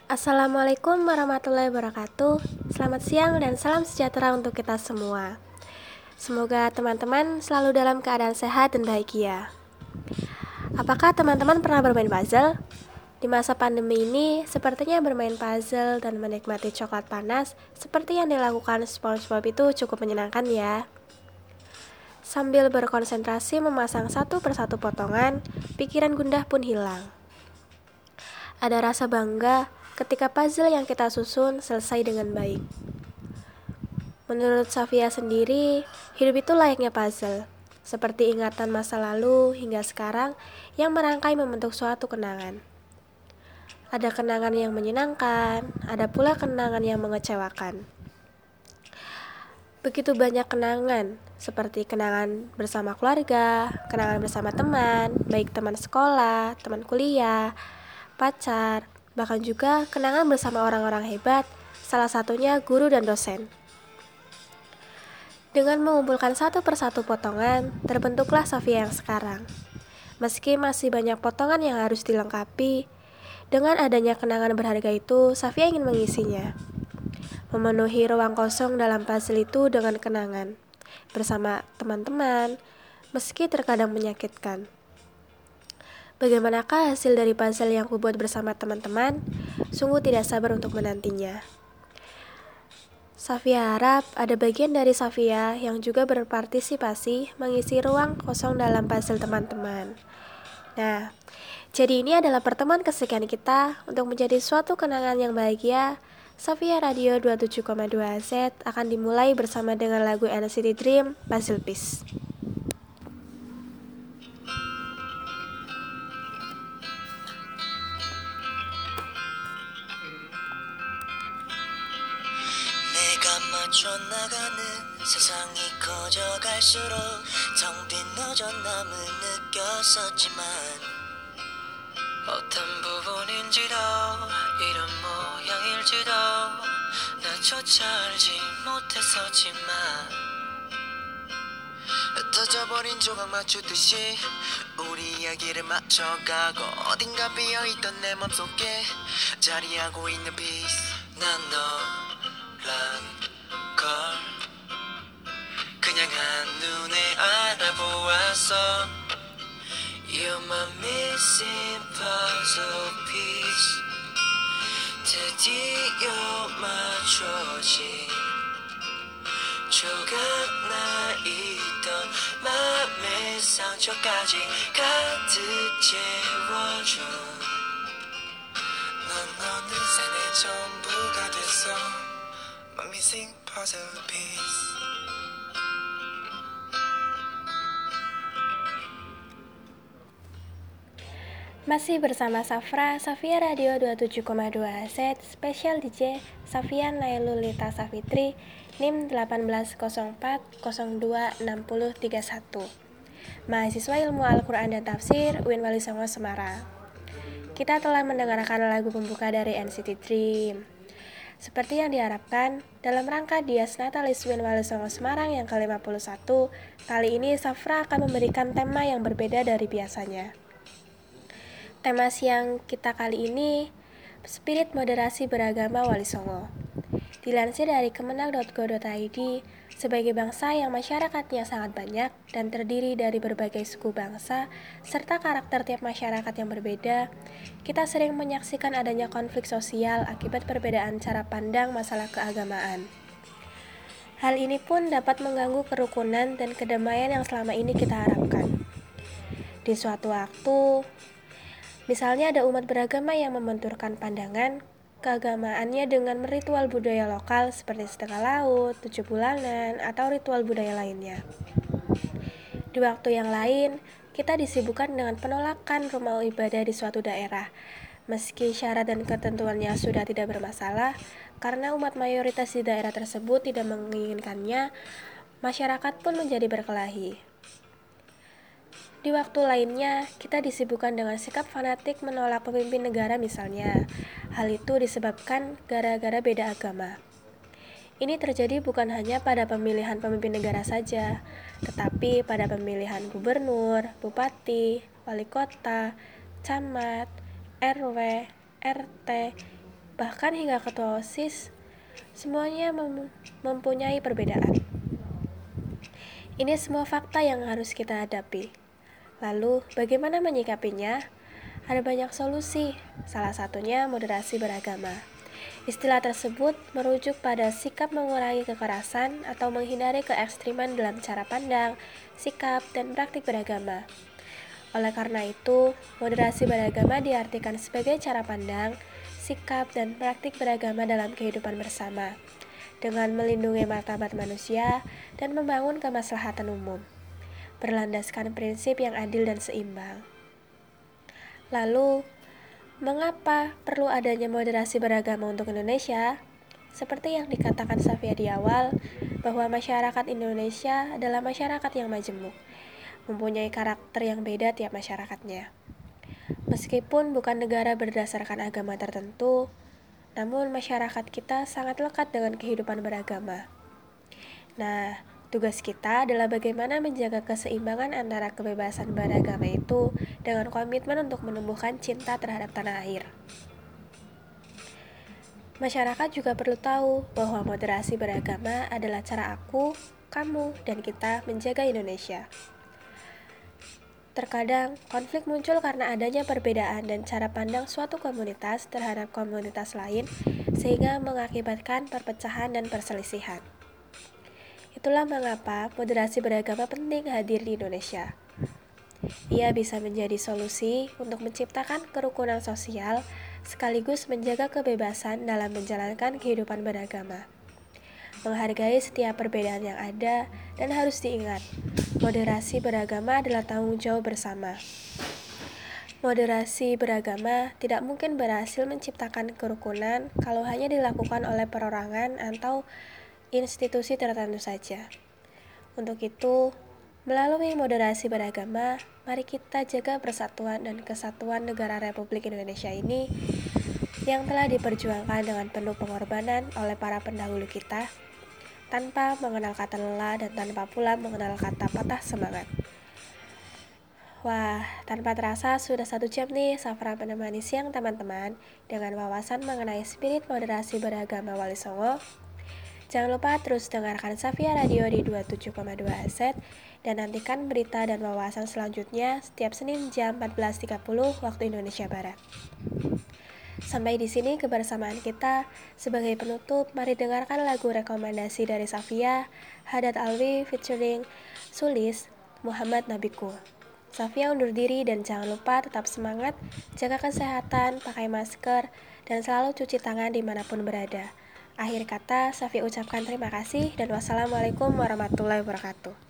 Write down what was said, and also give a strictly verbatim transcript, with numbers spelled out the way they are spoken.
Assalamualaikum warahmatullahi wabarakatuh. Selamat siang dan salam sejahtera untuk kita semua. Semoga teman-teman selalu dalam keadaan sehat dan bahagia. Apakah teman-teman pernah bermain puzzle? Di masa pandemi ini, sepertinya bermain puzzle dan menikmati coklat panas seperti yang dilakukan SpongeBob itu cukup menyenangkan ya. Sambil berkonsentrasi memasang satu persatu potongan, pikiran gundah pun hilang. Ada rasa bangga ketika puzzle yang kita susun selesai dengan baik. Menurut Safia sendiri, hidup itu layaknya puzzle, seperti ingatan masa lalu hingga sekarang yang merangkai membentuk suatu kenangan. Ada kenangan yang menyenangkan, ada pula kenangan yang mengecewakan. Begitu banyak kenangan, seperti kenangan bersama keluarga, kenangan bersama teman, baik teman sekolah, teman kuliah, pacar, bahkan juga kenangan bersama orang-orang hebat, salah satunya guru dan dosen. Dengan mengumpulkan satu persatu potongan, terbentuklah Safia yang sekarang. Meski masih banyak potongan yang harus dilengkapi, dengan adanya kenangan berharga itu, Safia ingin mengisinya. Memenuhi ruang kosong dalam puzzle itu dengan kenangan, bersama teman-teman, meski terkadang menyakitkan. Bagaimanakah hasil dari puzzle yang kubuat bersama teman-teman? Sungguh tidak sabar untuk menantinya. Safia harap ada bagian dari Safia yang juga berpartisipasi mengisi ruang kosong dalam puzzle teman-teman. Nah, jadi ini adalah pertemuan kesekian kita untuk menjadi suatu kenangan yang bahagia. Safia Radio dua puluh tujuh koma dua Z akan dimulai bersama dengan lagu N C T Dream, Puzzle Piece. 맞춰나가는 세상이 커져갈수록 텅 빈 허전함을 느꼈었지만 어떤 부분인지도 이런 모양일지도 나조차 알지 못했었지만 흩어져버린 조각 맞추듯이 우리 이야기를 맞춰가고 어딘가 비어있던 내 맘속에 자리하고 있는 piece 난 너란 걸 그냥 한눈에 알아보았어 You're my missing puzzle piece 드디어 맞춰진 조각나 있던 맘의 상처까지 가득 채워준 넌 어느새 내 전부가 됐어 My missing puzzle piece Masih bersama Safra, Safia Radio dua puluh tujuh koma dua Z, Special D J, Safia Nailulita Safitri, N I M delapan belas nol empat nol dua enam nol tiga satu. Mahasiswa Ilmu Al-Quran dan Tafsir, U I N Wali Songo Semarang. Kita telah mendengarkan lagu pembuka dari N C T Dream. Seperti yang diharapkan, dalam rangka Dias Natalis U I N Wali Songo Semarang yang ke lima puluh satu, kali ini Safra akan memberikan tema yang berbeda dari biasanya. Tema siang kita kali ini, Spirit Moderasi Beragama Wali Songo. Dilansir dari kemenang dot go dot i d, sebagai bangsa yang masyarakatnya sangat banyak dan terdiri dari berbagai suku bangsa, serta karakter tiap masyarakat yang berbeda, kita sering menyaksikan adanya konflik sosial akibat perbedaan cara pandang masalah keagamaan. Hal ini pun dapat mengganggu kerukunan dan kedamaian yang selama ini kita harapkan. Di suatu waktu, misalnya ada umat beragama yang membenturkan pandangan keagamaannya dengan ritual budaya lokal seperti setengah laut, tujuh bulanan, atau ritual budaya lainnya. Di waktu yang lain, kita disibukkan dengan penolakan rumah ibadah di suatu daerah, meski syarat dan ketentuannya sudah tidak bermasalah, karena umat mayoritas di daerah tersebut tidak menginginkannya, masyarakat pun menjadi berkelahi. Di waktu lainnya, kita disibukkan dengan sikap fanatik menolak pemimpin negara misalnya. Hal itu disebabkan gara-gara beda agama. Ini terjadi bukan hanya pada pemilihan pemimpin negara saja, tetapi pada pemilihan gubernur, bupati, wali kota, camat, R W, R T, bahkan hingga ketua OSIS, semuanya mem- mempunyai perbedaan. Ini semua fakta yang harus kita hadapi. Lalu, bagaimana menyikapinya? Ada banyak solusi, salah satunya moderasi beragama. Istilah tersebut merujuk pada sikap mengurangi kekerasan atau menghindari keekstriman dalam cara pandang, sikap, dan praktik beragama. Oleh karena itu, moderasi beragama diartikan sebagai cara pandang, sikap, dan praktik beragama dalam kehidupan bersama, dengan melindungi martabat manusia dan membangun kemaslahatan umum, berlandaskan prinsip yang adil dan seimbang. Lalu, mengapa perlu adanya moderasi beragama untuk Indonesia? Seperti yang dikatakan Safia di awal, bahwa masyarakat Indonesia adalah masyarakat yang majemuk, mempunyai karakter yang beda tiap masyarakatnya. Meskipun bukan negara berdasarkan agama tertentu, namun masyarakat kita sangat lekat dengan kehidupan beragama. Nah, tugas kita adalah bagaimana menjaga keseimbangan antara kebebasan beragama itu dengan komitmen untuk menumbuhkan cinta terhadap tanah air. Masyarakat juga perlu tahu bahwa moderasi beragama adalah cara aku, kamu, dan kita menjaga Indonesia. Terkadang, konflik muncul karena adanya perbedaan dan cara pandang suatu komunitas terhadap komunitas lain, sehingga mengakibatkan perpecahan dan perselisihan. Itulah mengapa moderasi beragama penting hadir di Indonesia. Ia bisa menjadi solusi untuk menciptakan kerukunan sosial, sekaligus menjaga kebebasan dalam menjalankan kehidupan beragama. Menghargai setiap perbedaan yang ada, dan harus diingat, moderasi beragama adalah tanggung jawab bersama. Moderasi beragama tidak mungkin berhasil menciptakan kerukunan kalau hanya dilakukan oleh perorangan atau institusi tertentu saja. Untuk itu, melalui moderasi beragama, mari kita jaga persatuan dan kesatuan negara Republik Indonesia ini yang telah diperjuangkan dengan penuh pengorbanan oleh para pendahulu kita, tanpa mengenal kata lelah dan tanpa pula mengenal kata patah semangat. Wah, tanpa terasa sudah satu jam nih Safra menemani siang teman-teman dengan wawasan mengenai spirit moderasi beragama Wali Songo. Jangan lupa terus dengarkan Safia Radio di dua puluh tujuh koma dua Z dan nantikan berita dan wawasan selanjutnya setiap Senin jam empat belas tiga puluh waktu Indonesia Barat. Sampai di sini kebersamaan kita. Sebagai penutup, mari dengarkan lagu rekomendasi dari Safia, Haddad Alwi featuring Sulis, Muhammad Nabiku. Safia undur diri dan jangan lupa tetap semangat, jaga kesehatan, pakai masker, dan selalu cuci tangan dimanapun berada. Akhir kata, Safia ucapkan terima kasih dan wassalamualaikum warahmatullahi wabarakatuh.